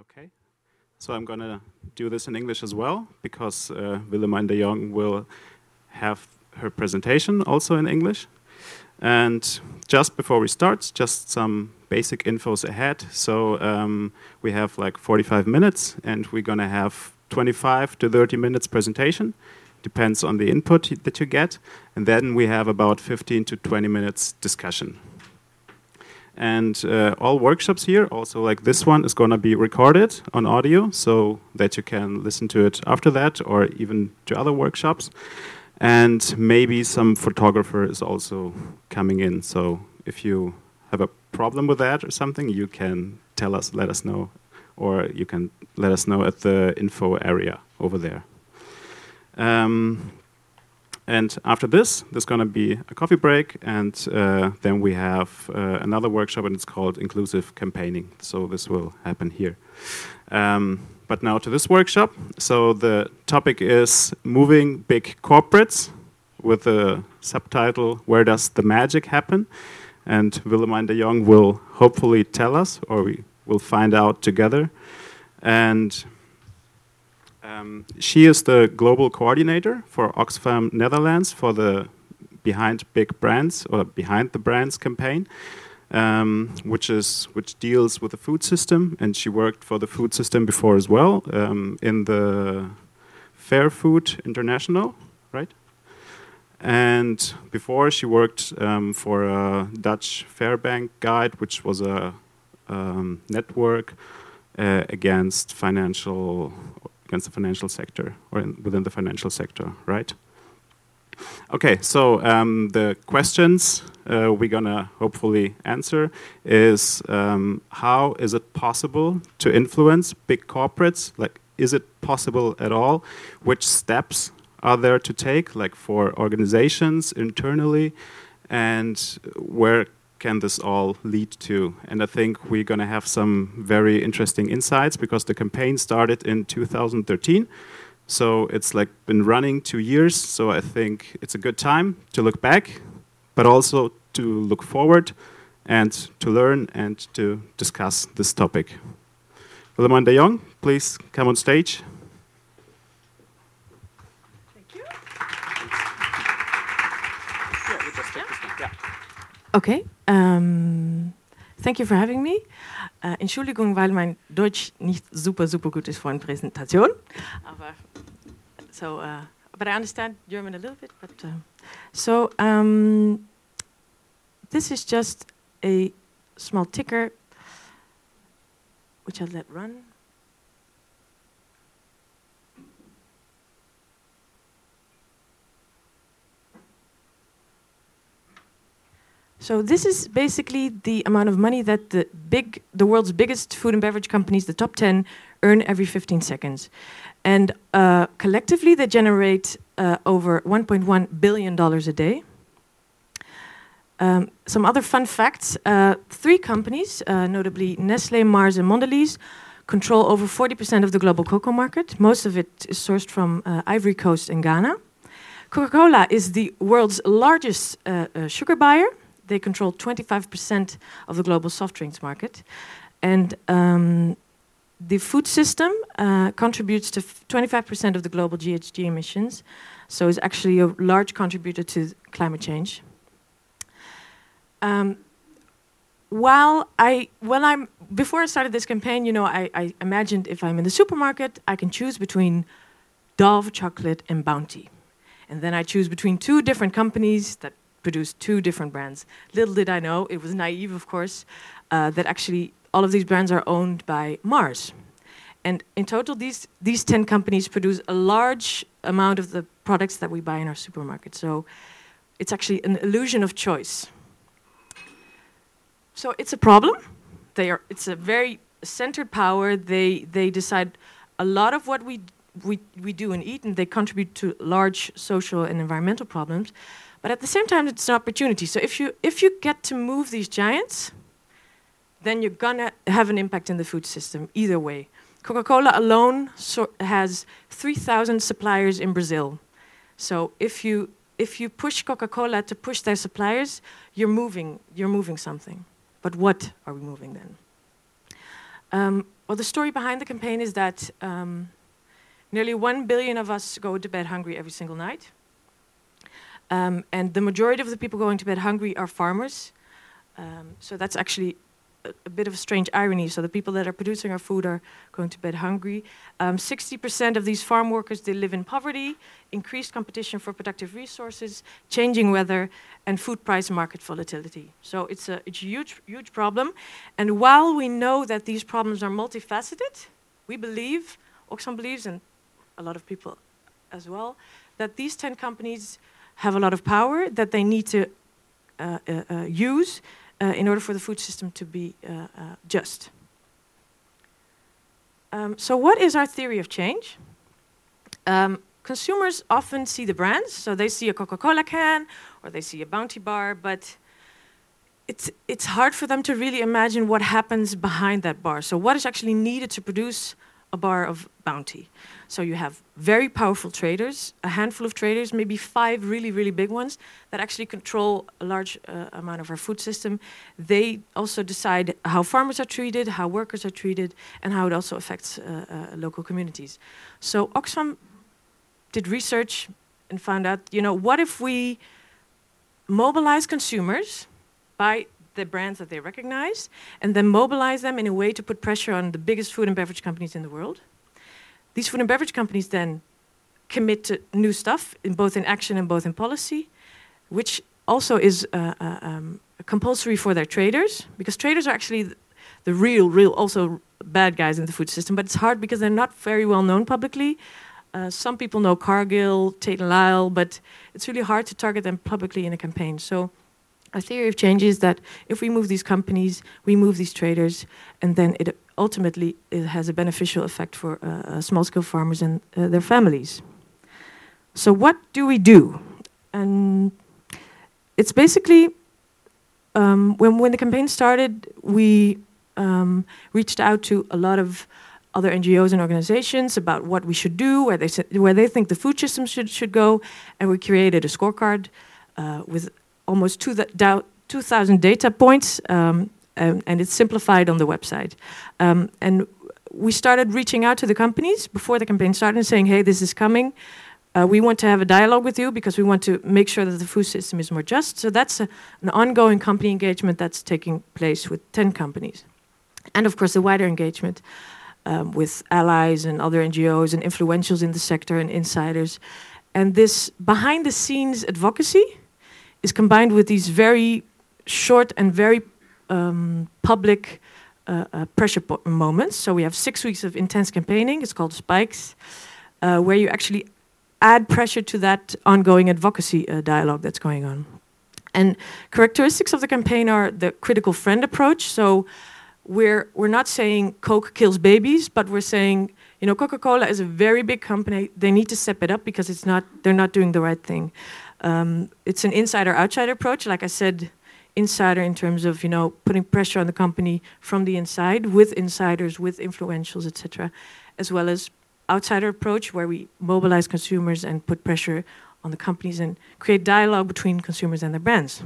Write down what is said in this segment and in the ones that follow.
Okay, so I'm gonna do this in English as well because Willemijn de Jong will have her presentation also in English. And just before we start, just some basic infos ahead. So we have like 45 minutes and we're gonna have 25 to 30 minutes presentation. Depends on the input that you get. And then we have about 15 to 20 minutes discussion. And all workshops here, also like this one, is going to be recorded on audio so that you can listen to it after that or even to other workshops. And maybe some photographer is also coming in. So if you have a problem with that or something, you can tell us, let us know, or you can let us know at the info area over there. And after this, there's going to be a coffee break, and then we have another workshop, and it's called Inclusive Campaigning. So this will happen here. But now to this workshop. So the topic is Moving Big Corporates, with the subtitle, Where Does the Magic Happen? And Willemijn de Jong will hopefully tell us, or we will find out together. And she is the global coordinator for Oxfam Netherlands for the Behind Big Brands or Behind the Brands campaign, which deals with the food system, and she worked for the food system before as well in the Fair Food International, right? And before she worked for a Dutch Fairbank Guide, which was a network against the financial sector, or within the financial sector, right? Okay, so the questions we're gonna hopefully answer is how is it possible to influence big corporates? Like, is it possible at all? Which steps are there to take, like for organizations internally, and where can this all lead to? And I think we're going to have some very interesting insights because the campaign started in 2013. So it's like been running 2 years. So I think it's a good time to look back, but also to look forward and to learn and to discuss this topic. Willemijn de Jong, please come on stage. Thank you. Okay. Thank you for having me. Entschuldigung, weil mein Deutsch nicht super gut ist für eine Präsentation. But I understand German a little bit. This is just a small ticker, which I'll let run. So this is basically the amount of money that the world's biggest food and beverage companies, the top 10, earn every 15 seconds. And collectively, they generate over $1.1 billion a day. Some other fun facts. 3 companies, notably Nestlé, Mars, and Mondelez, control over 40% of the global cocoa market. Most of it is sourced from Ivory Coast and Ghana. Coca-Cola is the world's largest sugar buyer. They control 25% of the global soft drinks market. And the food system contributes to 25% of the global GHG emissions, so is actually a large contributor to climate change. Before I started this campaign, I imagined if I'm in the supermarket, I can choose between Dove chocolate and Bounty. And then I choose between 2 different companies that produce 2 different brands. Little did I know, it was naive, of course, that actually all of these brands are owned by Mars. And in total, these 10 companies produce a large amount of the products that we buy in our supermarket. So it's actually an illusion of choice. So it's a problem. It's a very centered power. They decide a lot of what we do and eat, and they contribute to large social and environmental problems. But at the same time, it's an opportunity. So if you get to move these giants, then you're gonna have an impact in the food system either way. Coca-Cola alone has 3,000 suppliers in Brazil. So if you push Coca-Cola to push their suppliers, you're moving something. But what are we moving then? Well, the story behind the campaign is that nearly 1 billion of us go to bed hungry every single night. And the majority of the people going to bed hungry are farmers. So that's actually a bit of a strange irony. So the people that are producing our food are going to bed hungry. 60% of these farm workers, they live in poverty, increased competition for productive resources, changing weather, and food price market volatility. So it's a huge, huge problem. And while we know that these problems are multifaceted, we believe, Oxfam believes, and a lot of people as well, that these 10 companies have a lot of power that they need to use in order for the food system to be just. So what is our theory of change? Consumers often see the brands, so they see a Coca-Cola can or they see a Bounty bar, but it's hard for them to really imagine what happens behind that bar. So what is actually needed to produce a bar of Bounty? So you have very powerful traders, a handful of traders, maybe 5 really, really big ones that actually control a large amount of our food system. They also decide how farmers are treated, how workers are treated, and how it also affects local communities. So Oxfam did research and found out, what if we mobilize consumers by the brands that they recognize, and then mobilize them in a way to put pressure on the biggest food and beverage companies in the world. These food and beverage companies then commit to new stuff, both in action and both in policy, which also is compulsory for their traders, because traders are actually the real also bad guys in the food system, but it's hard because they're not very well known publicly. Some people know Cargill, Tate & Lyle, but it's really hard to target them publicly in a campaign. So our theory of change is that if we move these companies, we move these traders, and then it has a beneficial effect for small-scale farmers and their families. So what do we do? And it's basically, when the campaign started, we reached out to a lot of other NGOs and organizations about what we should do, where they think the food system should go, and we created a scorecard with almost 2,000 data points, and it's simplified on the website. And we started reaching out to the companies before the campaign started and saying, hey, this is coming. We want to have a dialogue with you because we want to make sure that the food system is more just. So that's an ongoing company engagement that's taking place with 10 companies. And of course, the wider engagement with allies and other NGOs and influentials in the sector and insiders. And this behind-the-scenes advocacy is combined with these very short and very public pressure moments. So we have 6 weeks of intense campaigning. It's called Spikes, where you actually add pressure to that ongoing advocacy dialogue that's going on. And characteristics of the campaign are the critical friend approach. So we're not saying Coke kills babies, but we're saying, Coca-Cola is a very big company. They need to step it up because they're not doing the right thing. It's an insider-outsider approach. Like I said, insider in terms of, putting pressure on the company from the inside with insiders, with influentials, etc., as well as outsider approach where we mobilize consumers and put pressure on the companies and create dialogue between consumers and their brands.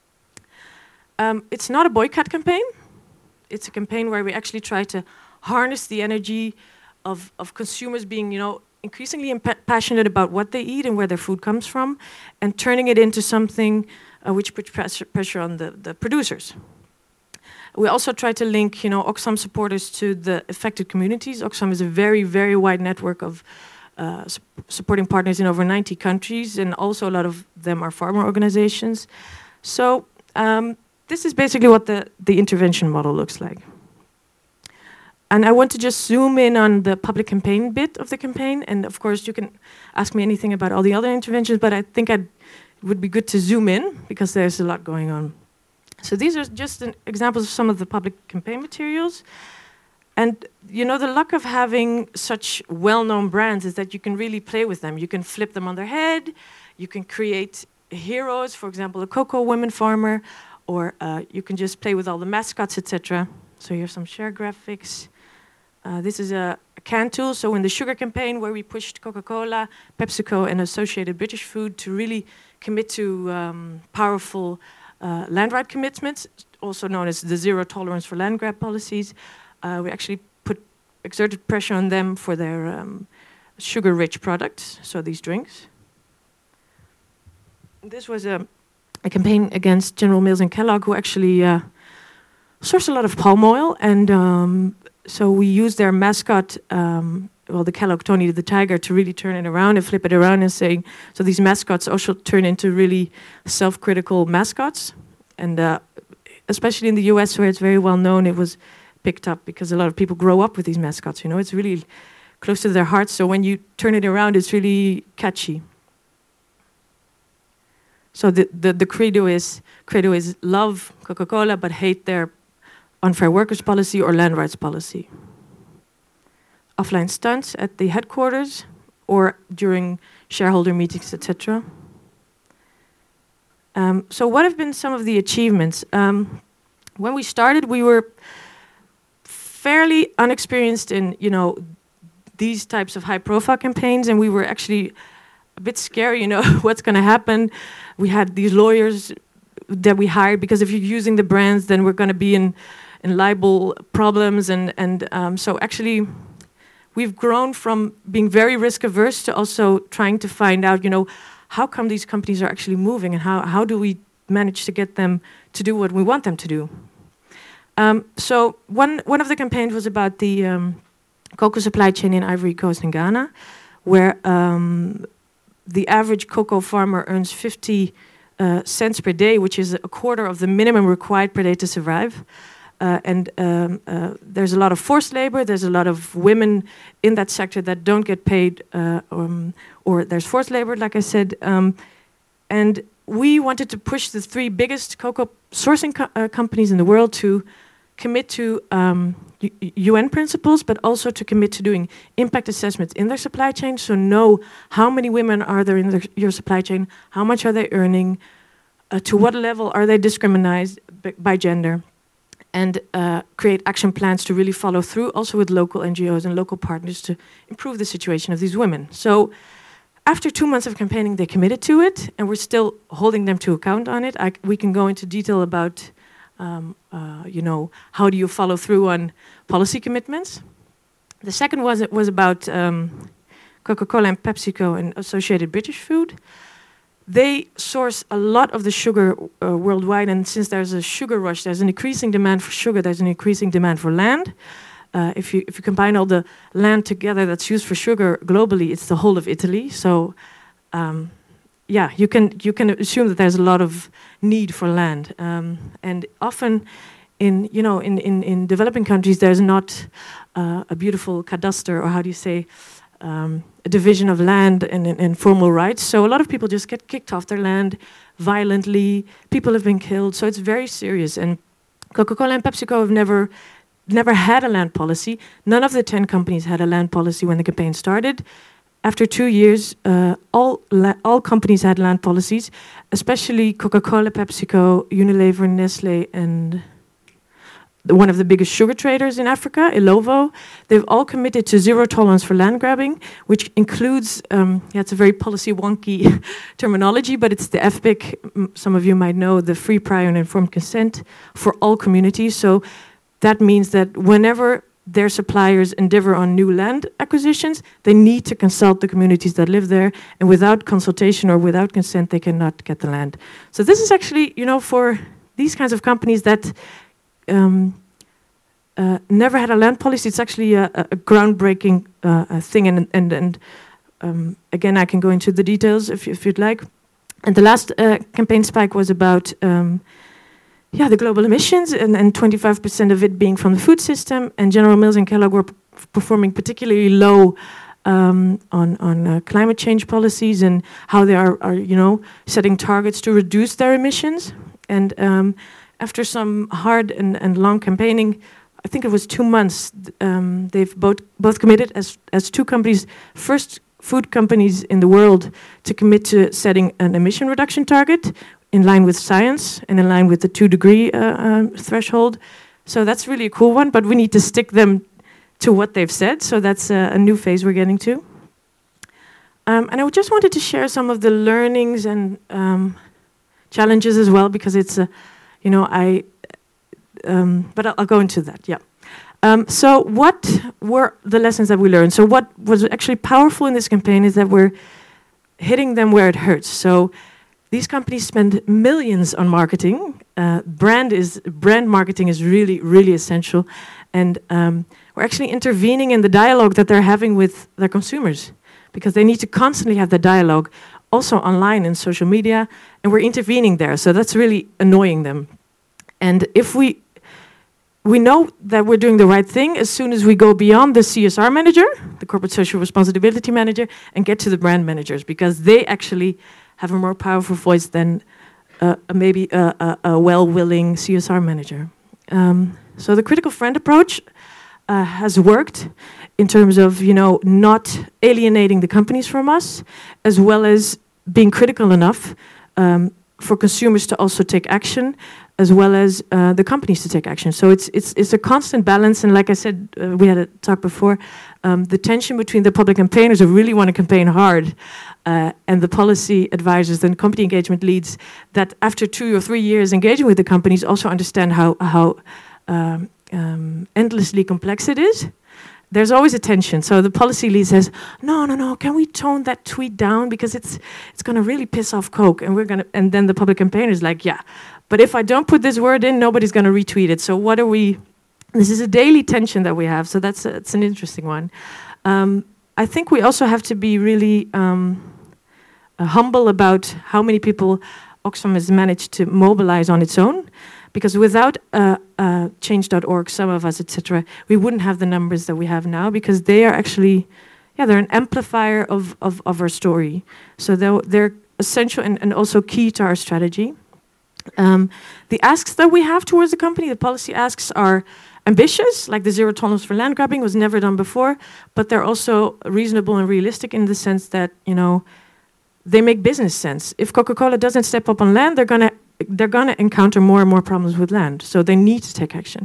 It's not a boycott campaign. It's a campaign where we actually try to harness the energy of consumers being, increasingly passionate about what they eat and where their food comes from, and turning it into something which puts pressure on the producers. We also try to link, Oxfam supporters to the affected communities. Oxfam is a very, very wide network of supporting partners in over 90 countries, and also a lot of them are farmer organizations. So this is basically what the intervention model looks like. And I want to just zoom in on the public campaign bit of the campaign. And of course, you can ask me anything about all the other interventions, but I think it would be good to zoom in because there's a lot going on. So these are just examples of some of the public campaign materials. And the luck of having such well-known brands is that you can really play with them. You can flip them on their head. You can create heroes, for example, a cocoa women farmer, or you can just play with all the mascots, etc. So here's some share graphics. This is a can tool. So in the sugar campaign where we pushed Coca-Cola, PepsiCo, and Associated British Food to really commit to powerful land right commitments, also known as the zero tolerance for land grab policies, we actually exerted pressure on them for their sugar-rich products, so these drinks. This was a campaign against General Mills and Kellogg, who actually source a lot of palm oil, and so we used their mascot, the Kellogg Tony the Tiger, to really turn it around and flip it around and saying, so these mascots also turn into really self-critical mascots, and especially in the US, where it's very well known, it was picked up because a lot of people grow up with these mascots. You know, it's really close to their hearts. So when you turn it around, it's really catchy. So the credo is love Coca-Cola but hate their unfair workers policy or land rights policy. Offline stunts at the headquarters or during shareholder meetings, etc. So what have been some of the achievements? When we started, we were fairly unexperienced in, these types of high-profile campaigns, and we were actually a bit scared, what's going to happen. We had these lawyers that we hired because if you're using the brands, then we're going to be in libel problems, and so actually we've grown from being very risk-averse to also trying to find out, how come these companies are actually moving, and how do we manage to get them to do what we want them to do. So one of the campaigns was about the cocoa supply chain in Ivory Coast and Ghana, where the average cocoa farmer earns 50 cents per day, which is a quarter of the minimum required per day to survive. And there's a lot of forced labor, there's a lot of women in that sector that don't get paid, or there's forced labor, like I said. And we wanted to push the 3 biggest cocoa sourcing companies in the world to commit to UN principles, but also to commit to doing impact assessments in their supply chain, so know how many women are there in your supply chain, how much are they earning, to what level are they discriminated by gender, and create action plans to really follow through, also with local NGOs and local partners to improve the situation of these women. So after 2 months of campaigning, they committed to it, and we're still holding them to account on it. We can go into detail about how do you follow through on policy commitments. The second was about Coca-Cola and PepsiCo and Associated British Food. They source a lot of the sugar worldwide, and since there's a sugar rush, there's an increasing demand for sugar, there's an increasing demand for land. If you combine all the land together that's used for sugar globally, it's the whole of Italy. So you can assume that there's a lot of need for land, and often in developing countries there's not a beautiful cadastre, or how do you say, a division of land and formal rights. So a lot of people just get kicked off their land violently. People have been killed, so it's very serious. And Coca-Cola and PepsiCo have never had a land policy. None of the 10 companies had a land policy when the campaign started. After 2 years, all companies had land policies, especially Coca-Cola, PepsiCo, Unilever, Nestle, and one of the biggest sugar traders in Africa, Ilovo. They've all committed to zero tolerance for land grabbing, which includes, it's a very policy wonky terminology, but it's the FPIC, some of you might know, the free, prior, and informed consent for all communities. So that means that whenever their suppliers endeavor on new land acquisitions, they need to consult the communities that live there, and without consultation or without consent, they cannot get the land. So this is actually, for these kinds of companies that never had a land policy, it's actually a groundbreaking thing, and again, I can go into the details if you'd like. And the last campaign spike was about the global emissions, and 25% of it being from the food system, and General Mills and Kellogg were performing particularly low on climate change policies and how they are setting targets to reduce their emissions. And after some hard and long campaigning, I think it was 2 months, they've both committed as 2 companies, first food companies in the world to commit to setting an emission reduction target in line with science and in line with the 2-degree threshold. So that's really a cool one, but we need to stick them to what they've said. So that's a new phase we're getting to. And I just wanted to share some of the learnings and challenges as well, because it's but I'll go into that, yeah. So what were the lessons that we learned? So what was actually powerful in this campaign is that we're hitting them where it hurts. So these companies spend millions on marketing. Brand marketing is really, really essential. And we're actually intervening in the dialogue that they're having with their consumers, because they need to constantly have the dialogue also online and social media, and we're intervening there. So that's really annoying them. And if we know that we're doing the right thing as soon as we go beyond the CSR manager, the corporate social responsibility manager, and get to the brand managers, because they actually have a more powerful voice than maybe a well-willing CSR manager. So the critical friend approach has worked in terms of, not alienating the companies from us, as well as being critical enough for consumers to also take action, as well as the companies to take action. So it's a constant balance, and like I said, we had a talk before, the tension between the public campaigners who really want to campaign hard and the policy advisors and company engagement leads that after 2 or 3 years engaging with the companies also understand how endlessly complex it is. There's always a tension. So the policy lead says, no, can we tone that tweet down, because it's going to really piss off Coke, and then the public campaigner is like, yeah, but if I don't put this word in, nobody's going to retweet it. So what are we? This is a daily tension that we have. So it's an interesting one. I think we also have to be really humble about how many people Oxfam has managed to mobilize on its own. Because without change.org, some of us, etc., we wouldn't have the numbers that we have now, because they are actually, they're an amplifier of our story. So they're essential and also key to our strategy. The asks that we have towards the company, the policy asks, are ambitious, like the zero tolerance for land grabbing was never done before, but they're also reasonable and realistic in the sense that, they make business sense. If Coca-Cola doesn't step up on land, they're gonna encounter more and more problems with land, so they need to take action.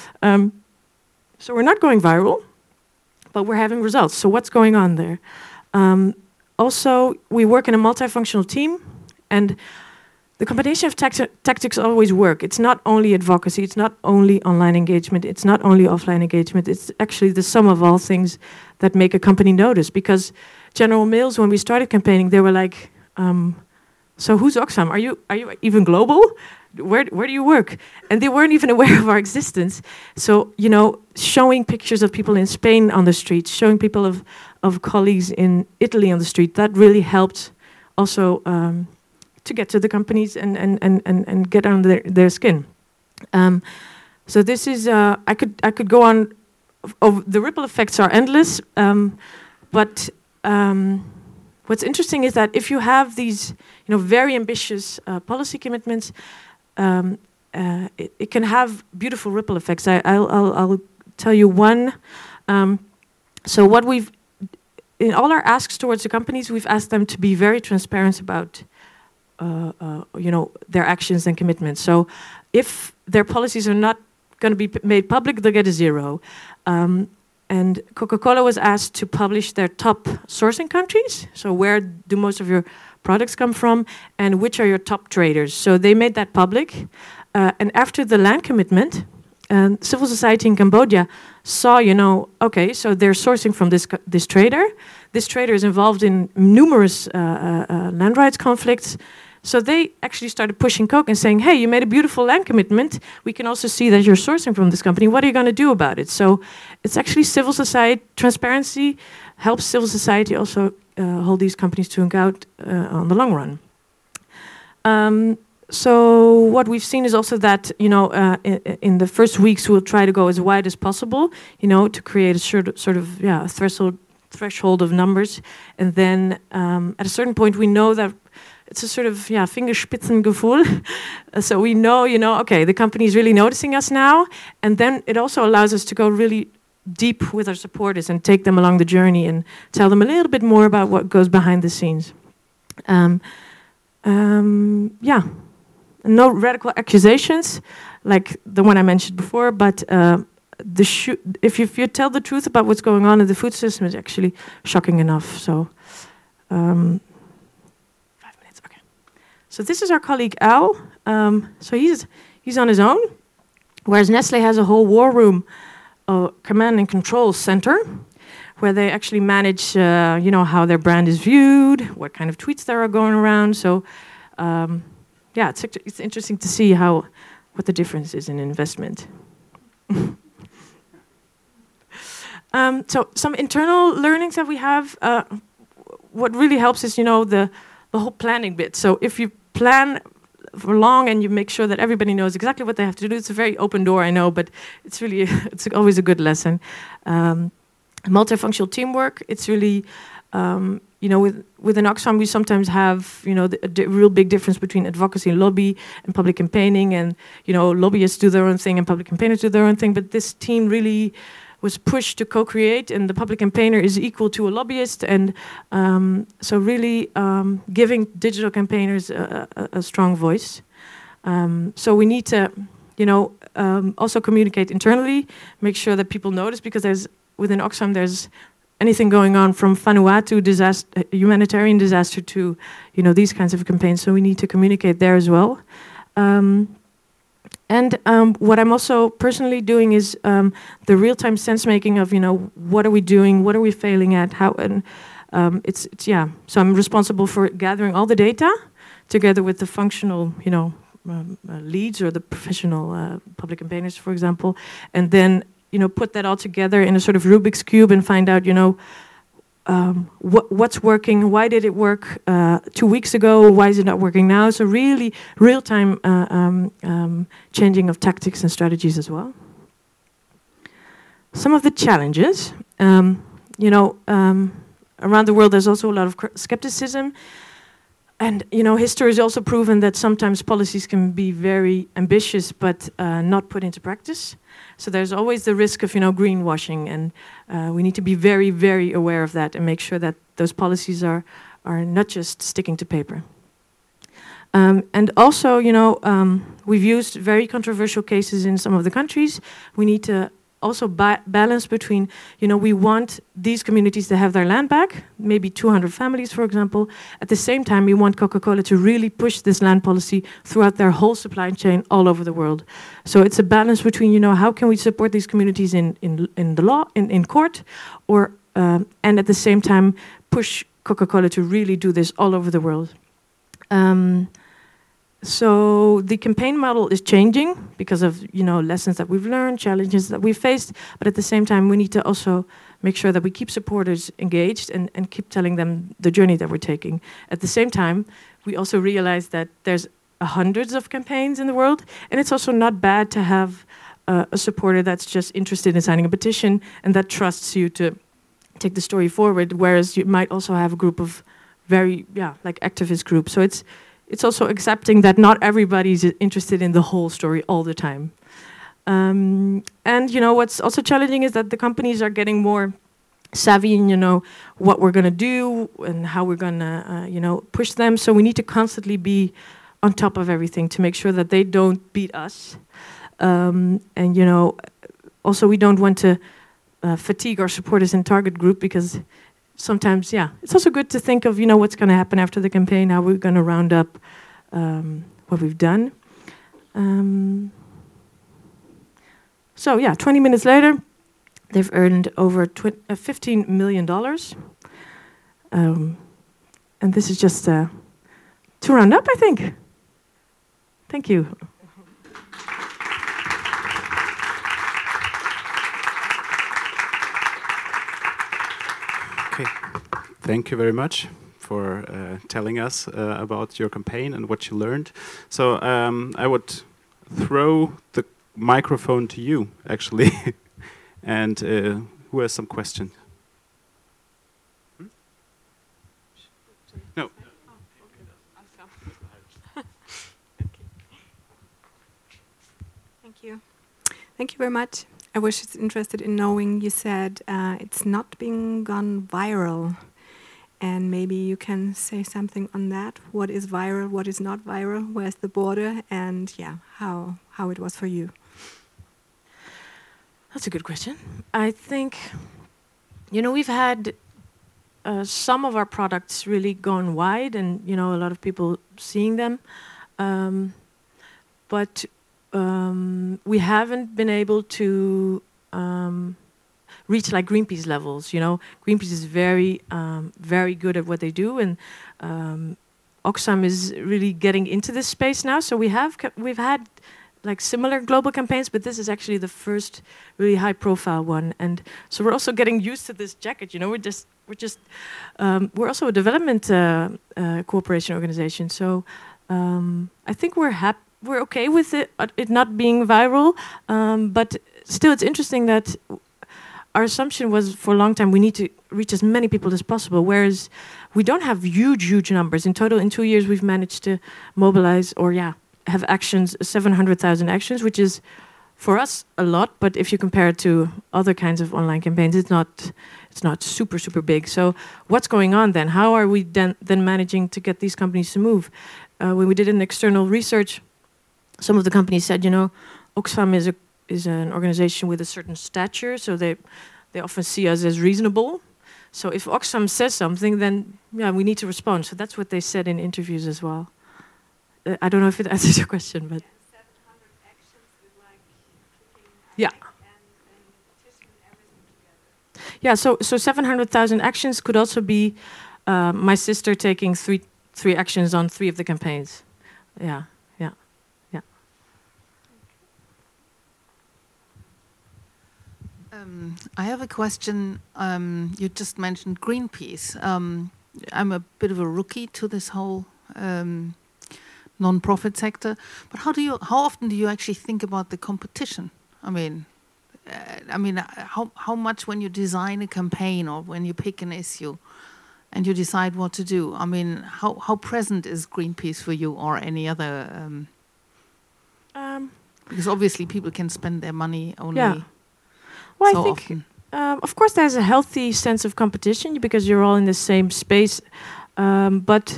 So we're not going viral, but we're having results. So what's going on there? Also, we work in a multifunctional team, and the combination of tactics always work. It's not only advocacy, it's not only online engagement, it's not only offline engagement, it's actually the sum of all things that make a company notice. Because General Mills, when we started campaigning, they were like, so who's Oxfam? Are you even global? Where do you work? And they weren't even aware of our existence. So, showing pictures of people in Spain on the street, showing people of colleagues in Italy on the street, that really helped also to get to the companies and get under their skin. So this is, I could go on, the ripple effects are endless, but what's interesting is that if you have these, very ambitious policy commitments, it can have beautiful ripple effects. I'll tell you one. So what in all our asks towards the companies, we've asked them to be very transparent about, their actions and commitments. So if their policies are not going to be made public, they'll get a 0. And Coca-Cola was asked to publish their top sourcing countries. So where do most of your products come from, and which are your top traders? So they made that public. And after the land commitment, civil society in Cambodia saw, okay, so they're sourcing from this trader. This trader is involved in numerous land rights conflicts. So they actually started pushing Coke and saying, hey, you made a beautiful land commitment. We can also see that you're sourcing from this company. What are you going to do about it? So it's actually civil society transparency helps civil society also hold these companies to account on the long run. So what we've seen is also that, in the first weeks, we'll try to go as wide as possible, to create a sort of threshold of numbers. And then at a certain point, we know that it's a sort of Fingerspitzengefühl. So we know, okay, the company is really noticing us now. And then it also allows us to go really deep with our supporters and take them along the journey and tell them a little bit more about what goes behind the scenes. No radical accusations like the one I mentioned before, but if you tell the truth about what's going on in the food system, it's actually shocking enough. So, 5 minutes, okay. So this is our colleague Al. So he's on his own, whereas Nestlé has a whole war room a command and control center where they actually manage, how their brand is viewed, what kind of tweets there are going around. So, it's interesting to see what the difference is in investment. So some internal learnings that we have. What really helps is, the whole planning bit. So if you plan for long and you make sure that everybody knows exactly what they have to do, it's a very open door, I know, but it's really it's always a good lesson. Multifunctional teamwork. It's really within Oxfam we sometimes have the real big difference between advocacy and lobby and public campaigning, and lobbyists do their own thing and public campaigners do their own thing. But this team really was pushed to co-create, and the public campaigner is equal to a lobbyist, and so really giving digital campaigners a strong voice. So we need to, also communicate internally, make sure that people notice, because within Oxfam there's anything going on from Vanuatu disaster, humanitarian disaster, to these kinds of campaigns. So we need to communicate there as well. And what I'm also personally doing is the real-time sense-making of, what are we doing, what are we failing at, how, and So I'm responsible for gathering all the data together with the functional, leads or the professional public campaigners, for example, and then, put that all together in a sort of Rubik's Cube and find out, what's working, why did it work 2 weeks ago, why is it not working now? So really real-time changing of tactics and strategies as well. Some of the challenges, around the world there's also a lot of skepticism, and history has also proven that sometimes policies can be very ambitious but not put into practice. So there's always the risk of greenwashing, and we need to be very, very aware of that and make sure that those policies are not just sticking to paper. And also, we've used very controversial cases in some of the countries. We need to also balance between, we want these communities to have their land back, maybe 200 families, for example. At the same time, we want Coca-Cola to really push this land policy throughout their whole supply chain all over the world. So it's a balance between, how can we support these communities in the law, in court, or and at the same time push Coca-Cola to really do this all over the world. So the campaign model is changing because of lessons that we've learned, challenges that we've faced, but at the same time we need to also make sure that we keep supporters engaged and keep telling them the journey that we're taking. At the same time, we also realize that there's hundreds of campaigns in the world, and it's also not bad to have a supporter that's just interested in signing a petition and that trusts you to take the story forward, whereas you might also have a group of very, activist groups. So it's also accepting that not everybody's interested in the whole story all the time. And what's also challenging is that the companies are getting more savvy in what we're going to do and how we're going to push them. So we need to constantly be on top of everything to make sure that they don't beat us. Also we don't want to fatigue our supporters in target group, because sometimes, it's also good to think of, what's going to happen after the campaign, how we're going to round up what we've done. 20 minutes later, they've earned over $15 million. And this is just to round up, I think. Thank you. Okay, thank you very much for telling us about your campaign and what you learned. So I would throw the microphone to you, actually. And who has some questions? No. Thank you. Thank you very much. I was interested in knowing, you said it's not being gone viral. And maybe you can say something on that. What is viral, what is not viral, where's the border, and how it was for you? That's a good question. I think, we've had some of our products really gone wide, and, a lot of people seeing them. But we haven't been able to reach like Greenpeace levels. You know, Greenpeace is very good at what they do, and Oxfam is really getting into this space now. So we've had like similar global campaigns, but this is actually the first really high-profile one. And so we're also getting used to this jacket. You know, we're also a development cooperation organization. So I think we're okay with it not being viral, but still, it's interesting that our assumption was for a long time we need to reach as many people as possible, whereas we don't have huge numbers. In total, in 2 years, we've managed to mobilize have actions, 700,000 actions, which is for us a lot, but if you compare it to other kinds of online campaigns, it's not super big. So what's going on then? How are we then managing to get these companies to move? When we did an external research, some of the companies said, you know, Oxfam is an organization with a certain stature, so they often see us as reasonable. So if Oxfam says something, then we need to respond. So that's what they said in interviews as well. I don't know if it answers your question, but 700 actions with like yeah, and petition and everything together. yeah. So 700,000 actions could also be my sister taking three actions on 3 of the campaigns. Yeah. I have a question. You just mentioned Greenpeace. I'm a bit of a rookie to this whole non-profit sector, but how often do you actually think about the competition? I mean, how much when you design a campaign or when you pick an issue and you decide what to do? I mean, how present is Greenpeace for you or any other? Because obviously people can spend their money only. Yeah. Well, so I think, often. Of course, there's a healthy sense of competition because you're all in the same space. But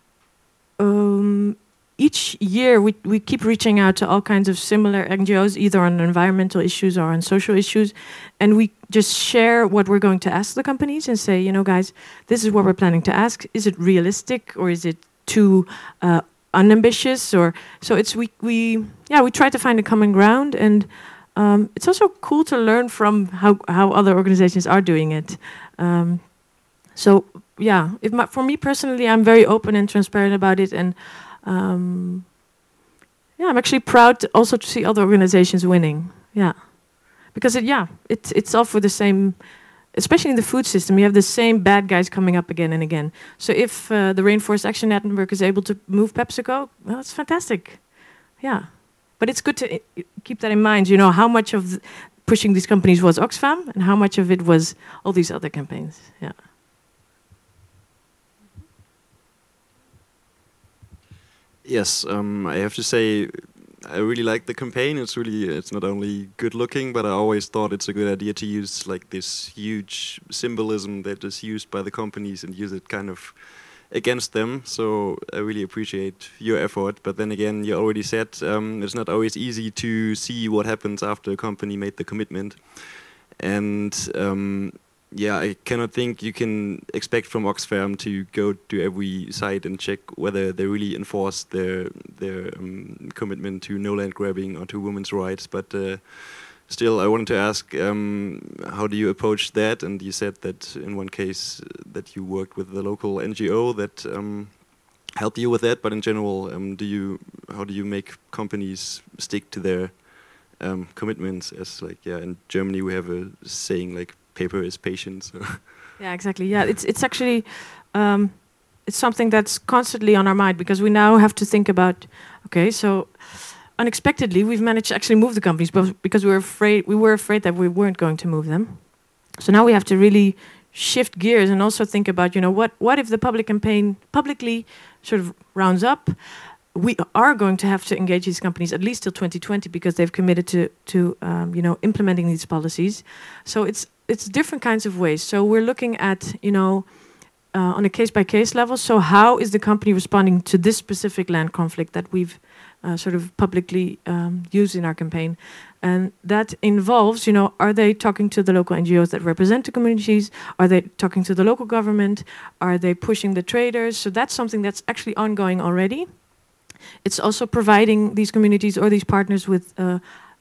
each year we keep reaching out to all kinds of similar NGOs, either on environmental issues or on social issues, and we just share what we're going to ask the companies and say, you know, guys, this is what we're planning to ask. Is it realistic or is it too unambitious? Or so it's we try to find a common ground, and it's also cool to learn from how other organizations are doing it. So yeah, for me personally, I'm very open and transparent about it, and I'm actually proud also to see other organizations winning. Yeah, because it's all for the same. Especially in the food system, you have the same bad guys coming up again and again. So if the Rainforest Action Network is able to move PepsiCo, well, it's fantastic. Yeah. But it's good to keep that in mind, you know, how much of pushing these companies was Oxfam and how much of it was all these other campaigns. Yeah. Yes, I have to say, I really like the campaign. It's not only good looking, but I always thought it's a good idea to use like this huge symbolism that is used by the companies and use it kind of against them. So I really appreciate your effort. But then again, you already said it's not always easy to see what happens after a company made the commitment. And I cannot think you can expect from Oxfam to go to every site and check whether they really enforce their commitment to no land grabbing or to women's rights. But still, I wanted to ask, how do you approach that? And you said that in one case that you worked with the local NGO that helped you with that. But in general, how do you make companies stick to their commitments? As in Germany we have a saying like paper is patient. So. Yeah, exactly. Yeah, it's actually it's something that's constantly on our mind because we now have to think about. Okay, so. Unexpectedly, we've managed to actually move the companies, but because we were afraid that we weren't going to move them. So now we have to really shift gears and also think about, you know, what if the public campaign publicly sort of rounds up? We are going to have to engage these companies at least till 2020 because they've committed to implementing these policies. So it's different kinds of ways. So we're looking at, you know, on a case-by-case level. So how is the company responding to this specific land conflict that we've sort of publicly used in our campaign? And that involves, you know, are they talking to the local NGOs that represent the communities? Are they talking to the local government? Are they pushing the traders? So that's something that's actually ongoing already. It's also providing these communities or these partners with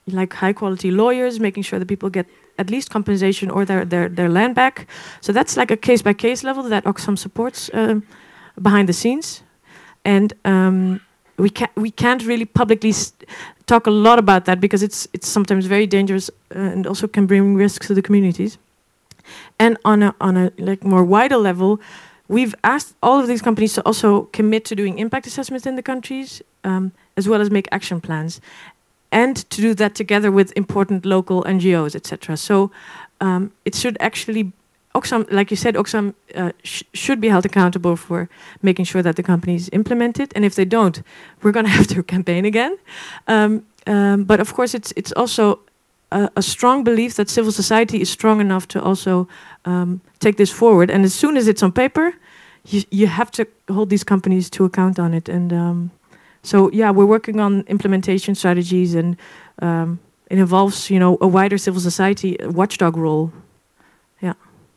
like high quality lawyers, making sure that people get at least compensation or their land back. So that's like a case by case level that Oxfam supports behind the scenes, and we can't really publicly talk a lot about that because it's sometimes very dangerous and also can bring risks to the communities. And on a like more wider level, we've asked all of these companies to also commit to doing impact assessments in the countries, as well as make action plans, and to do that together with important local NGOs, etc. So it should actually, Oxfam, like you said, Oxfam should be held accountable for making sure that the companies implement it. And if they don't, we're going to have to campaign again. But of course, it's also a strong belief that civil society is strong enough to also take this forward. And as soon as it's on paper, you have to hold these companies to account on it. And so, yeah, we're working on implementation strategies, and it involves, a wider civil society watchdog role. Yeah.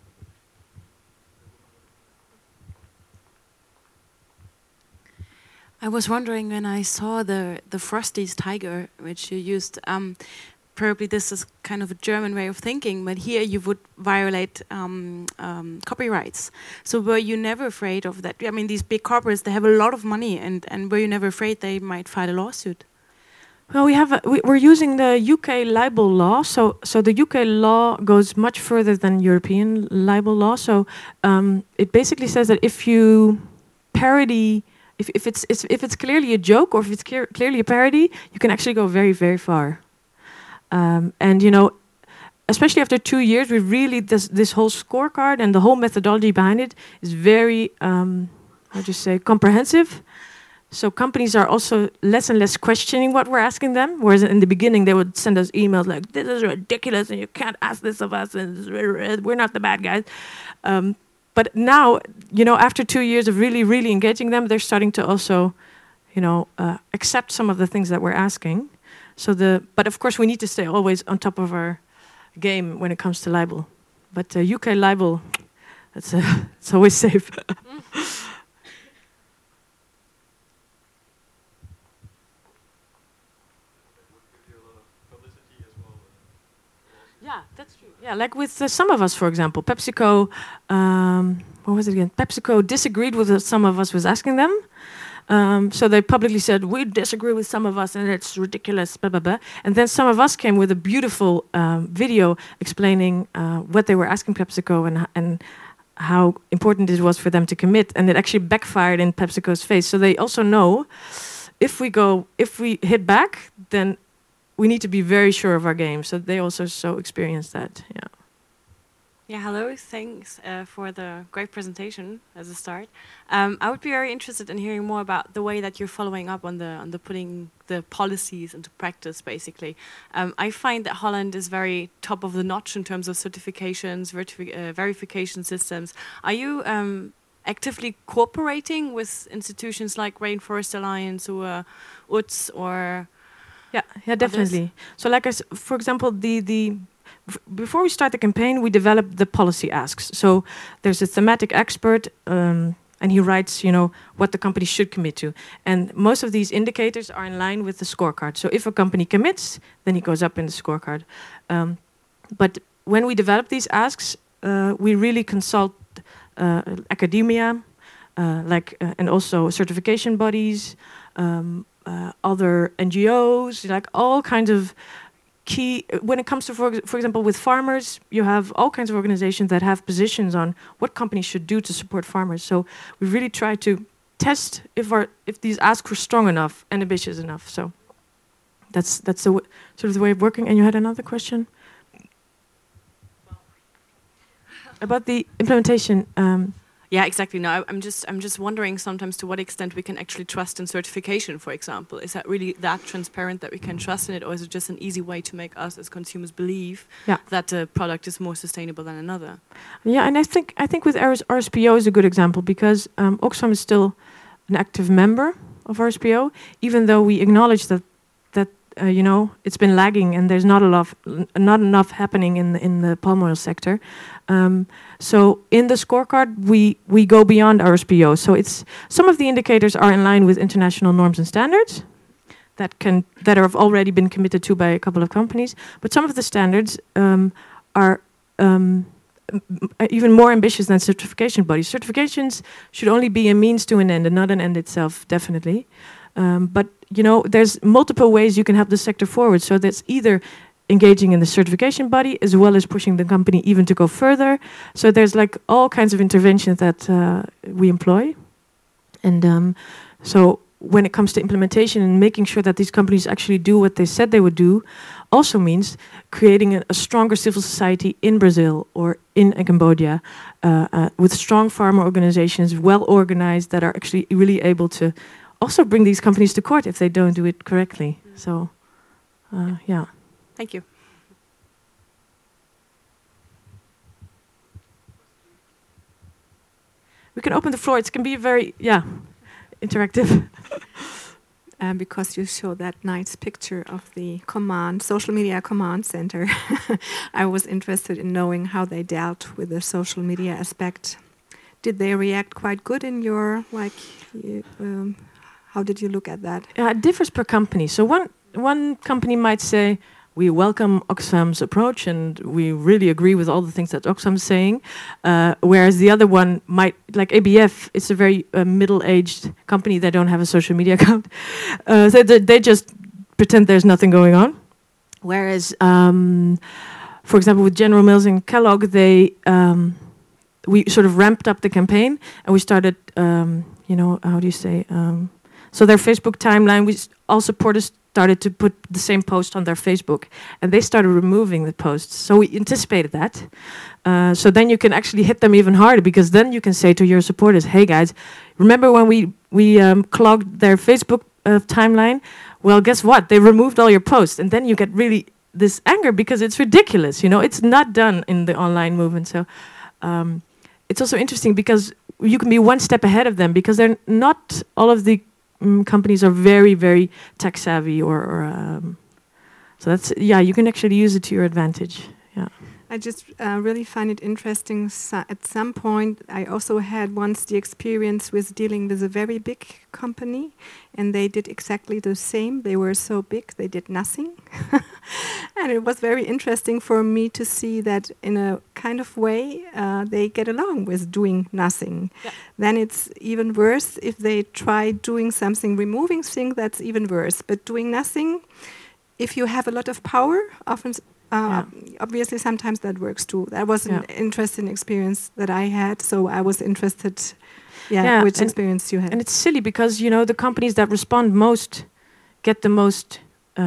I was wondering when I saw the Frosties tiger, which you used. Probably this is kind of a German way of thinking, but here you would violate copyrights. So were you never afraid of that? I mean, these big corporates, they have a lot of money, and were you never afraid they might file a lawsuit? Well, we're using the UK libel law. So the UK law goes much further than European libel law. So it basically says that if you parody, if it's clearly a joke or if it's clearly a parody, you can actually go very, very far. And especially after 2 years, we really this whole scorecard and the whole methodology behind it is very, comprehensive. So companies are also less and less questioning what we're asking them. Whereas in the beginning, they would send us emails like, "This is ridiculous, and you can't ask this of us, and we're not the bad guys." But now, after 2 years of really, really engaging them, they're starting to also, accept some of the things that we're asking. But of course, we need to stay always on top of our game when it comes to libel. But UK libel, it's always safe. Yeah, that's true. Yeah, like with some of us, for example, PepsiCo. What was it again? PepsiCo disagreed with some of us was asking them. So they publicly said, we disagree with some of us and it's ridiculous, blah, blah, blah. And then some of us came with a beautiful video explaining what they were asking PepsiCo and how important it was for them to commit. And it actually backfired in PepsiCo's face. So they also know if we hit back, then we need to be very sure of our game. So they also experienced that, yeah. Yeah, hello. Thanks for the great presentation as a start. I would be very interested in hearing more about the way that you're following up on the putting the policies into practice, basically. I find that Holland is very top of the notch in terms of certifications, verification systems. Are you actively cooperating with institutions like Rainforest Alliance or UTS or... Yeah, definitely. So like for example, before we start the campaign, we develop the policy asks. So there's a thematic expert, and he writes, what the company should commit to. And most of these indicators are in line with the scorecard. So if a company commits, then he goes up in the scorecard. But when we develop these asks, we really consult academia, and also certification bodies, other NGOs, like all kinds of key. When it comes to, for example, with farmers, you have all kinds of organizations that have positions on what companies should do to support farmers. So we really try to test if these asks were strong enough and ambitious enough. So that's the sort of the way of working. And you had another question about the implementation. Yeah, exactly. No, I'm just wondering sometimes to what extent we can actually trust in certification, for example. Is that really that transparent that we can trust in it, or is it just an easy way to make us as consumers believe that the product is more sustainable than another? Yeah, and I think with RSPO is a good example because Oxfam is still an active member of RSPO, even though we acknowledge that it's been lagging and there's not enough happening in the palm oil sector. So in the scorecard, we go beyond RSPO. So some of the indicators are in line with international norms and standards. that have already been committed to by a couple of companies. But some of the standards are even more ambitious than certification bodies. Certifications should only be a means to an end and not an end itself, definitely. But there's multiple ways you can help the sector forward. So that's either engaging in the certification body as well as pushing the company even to go further. So there's like all kinds of interventions that we employ. And so when it comes to implementation and making sure that these companies actually do what they said they would do, also means creating a stronger civil society in Brazil or in Cambodia with strong farmer organizations, well organized, that are actually really able to also bring these companies to court if they don't do it correctly. So, yeah. Thank you. We can open the floor. It can be very, interactive. Because you showed that nice picture of the social media command center, I was interested in knowing how they dealt with the social media aspect. Did they react quite good in your, how did you look at that? It differs per company. So one company might say, we welcome Oxfam's approach and we really agree with all the things that Oxfam's saying. Whereas the other one might, like ABF, it's a very middle-aged company. They don't have a social media account. So they just pretend there's nothing going on. Whereas, for example, with General Mills and Kellogg, we sort of ramped up the campaign and we started, how do you say? So their Facebook timeline, all supporters started to put the same post on their Facebook, and they started removing the posts. So we anticipated that. So then you can actually hit them even harder, because then you can say to your supporters, "Hey guys, remember when we clogged their Facebook timeline? Well, guess what? They removed all your posts." And then you get really this anger because it's ridiculous. It's not done in the online movement. So it's also interesting because you can be one step ahead of them, because they're not all of the companies are very, very tech savvy, so that's you can actually use it to your advantage. Yeah. I just really find it interesting. At some point, I also had once the experience with dealing with a very big company, and they did exactly the same. They were so big, they did nothing. And it was very interesting for me to see that in a kind of way they get along with doing nothing. Yeah. Then it's even worse if they try doing something, removing things, that's even worse. But doing nothing, if you have a lot of power, often... obviously, sometimes that works too. That was an interesting experience that I had, so I was interested, which experience you had. And it's silly because, the companies that respond most get the most,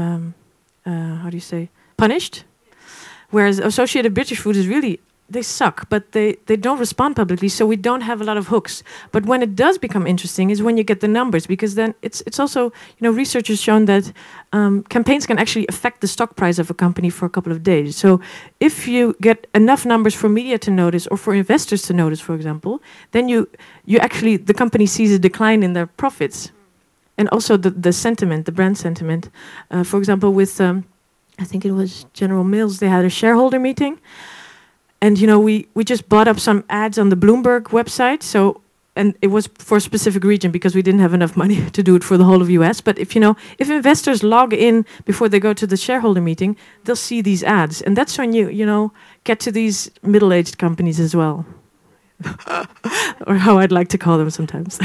punished. Whereas Associated British Foods is really, they suck, but they don't respond publicly, so we don't have a lot of hooks. But when it does become interesting is when you get the numbers, because then it's also, research has shown that campaigns can actually affect the stock price of a company for a couple of days. So if you get enough numbers for media to notice or for investors to notice, for example, then you actually, the company sees a decline in their profits. And also the sentiment, the brand sentiment. For example, with, I think it was General Mills, they had a shareholder meeting. And, we just bought up some ads on the Bloomberg website. So, and it was for a specific region because we didn't have enough money to do it for the whole of US. But if investors log in before they go to the shareholder meeting, they'll see these ads. And that's when you get to these middle-aged companies as well. Or how I'd like to call them sometimes.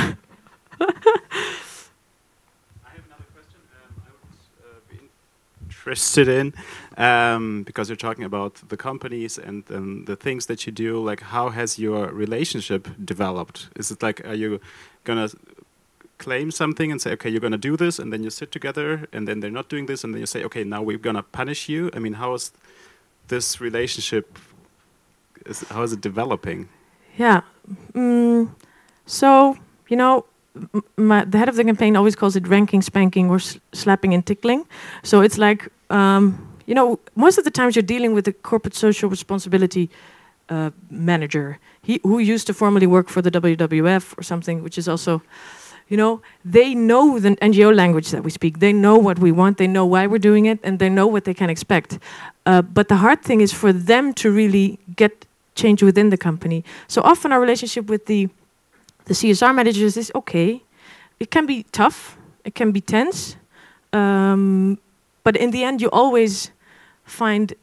Interested in, because you're talking about the companies and the things that you do, like how has your relationship developed? Is it like, are you gonna claim something and say, okay, you're gonna do this, and then you sit together, and then they're not doing this, and then you say, okay, now we're gonna punish you? I mean, how is this relationship, how is it developing? Yeah, so, the head of the campaign always calls it ranking, spanking, or slapping and tickling. So it's like, most of the times you're dealing with a corporate social responsibility manager, who used to formerly work for the WWF or something, which is also, they know the NGO language that we speak. They know what we want. They know why we're doing it, and they know what they can expect. But the hard thing is for them to really get change within the company. So often our relationship with the CSR managers is okay. It can be tough. It can be tense. but in the end, you always find,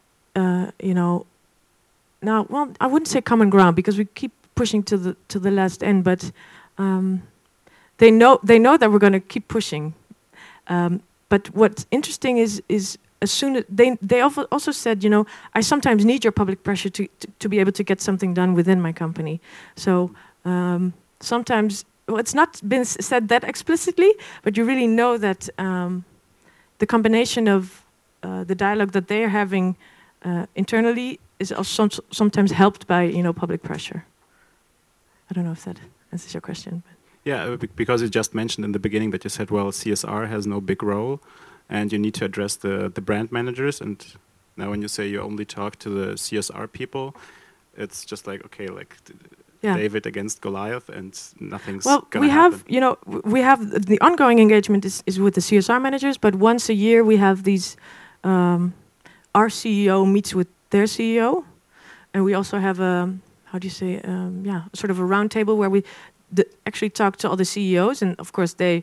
now, well, I wouldn't say common ground because we keep pushing to the last end, but they know that we're going to keep pushing. But what's interesting is as soon as they also said, I sometimes need your public pressure to be able to get something done within my company. So sometimes, well, it's not been said that explicitly, but you really know that the combination of the dialogue that they are having internally is also sometimes helped by public pressure. I don't know if that answers your question. But. Yeah, because you just mentioned in the beginning that you said, well, CSR has no big role, and you need to address the brand managers. And now when you say you only talk to the CSR people, it's just like, okay, like David against Goliath, and nothing's going to happen. Well, we have the ongoing engagement is with the CSR managers, but once a year we have these, our CEO meets with their CEO, and we also have sort of a round table where we actually talk to all the CEOs, and of course they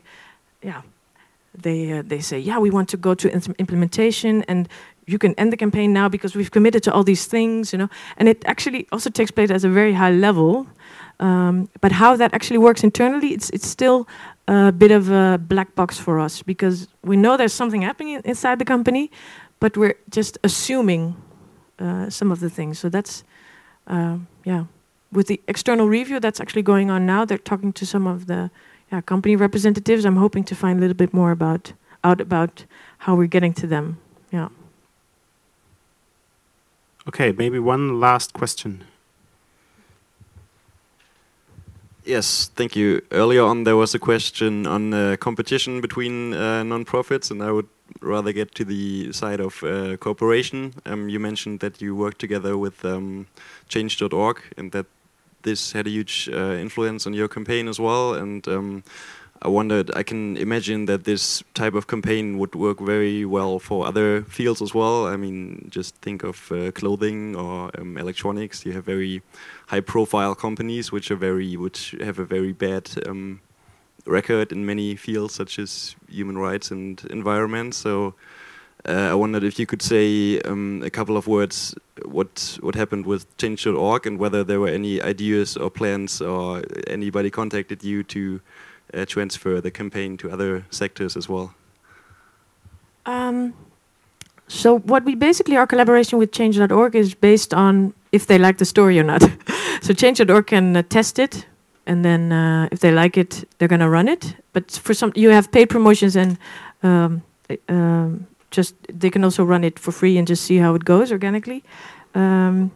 say, we want to go to implementation, and you can end the campaign now because we've committed to all these things, And it actually also takes place at a very high level, but how that actually works internally, it's still a bit of a black box for us because we know there's something happening inside the company, but we're just assuming some of the things. So that's with the external review that's actually going on now, they're talking to some of the company representatives. I'm hoping to find a little bit more about how we're getting to them. Yeah. Okay, maybe one last question. Yes, thank you. Earlier on, there was a question on competition between non-profits, and I would rather get to the side of cooperation. You mentioned that you work together with Change.org, and that this had a huge influence on your campaign as well. And I wondered, I can imagine that this type of campaign would work very well for other fields as well. I mean, just think of clothing or electronics. You have very high-profile companies which have a very bad record in many fields, such as human rights and environment. So I wondered if you could say a couple of words what happened with Change.org and whether there were any ideas or plans or anybody contacted you to transfer the campaign to other sectors as well. So what we basically, our collaboration with Change.org is based on if they like the story or not. So Change.org can test it, and then if they like it, they're going to run it. But for some, you have paid promotions, and just they can also run it for free and just see how it goes organically. And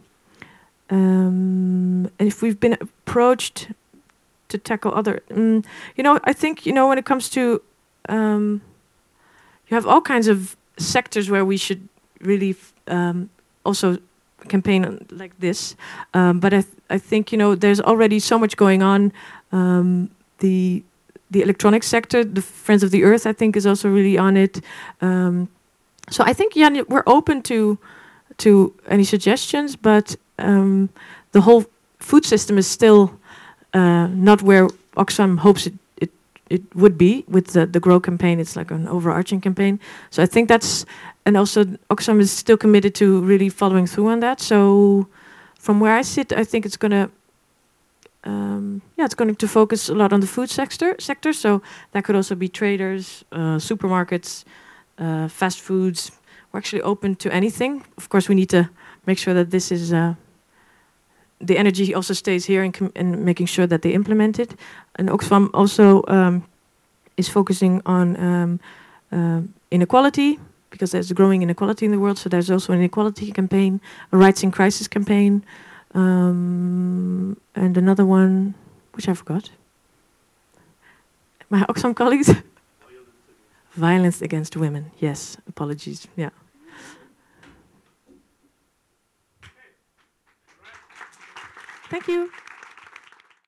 if we've been approached to tackle other, I think when it comes to, you have all kinds of sectors where we should really also campaign on like this. But I think there's already so much going on. The electronics sector, the Friends of the Earth, I think, is also really on it. So I think we're open to any suggestions, but the whole food system is still not where Oxfam hopes it would be with the Grow campaign. It's like an overarching campaign. So I think and also Oxfam is still committed to really following through on that. So from where I sit, I think it's going to focus a lot on the food sector. So that could also be traders, supermarkets, fast foods. We're actually open to anything. Of course, we need to make sure that this is the energy also stays here and making sure that they implement it. And Oxfam also is focusing on inequality, because there's a growing inequality in the world. So there's also an inequality campaign, a rights in crisis campaign, and another one, which I forgot. My Oxfam colleagues? Violence against women. Yes, apologies. Yeah. Thank you.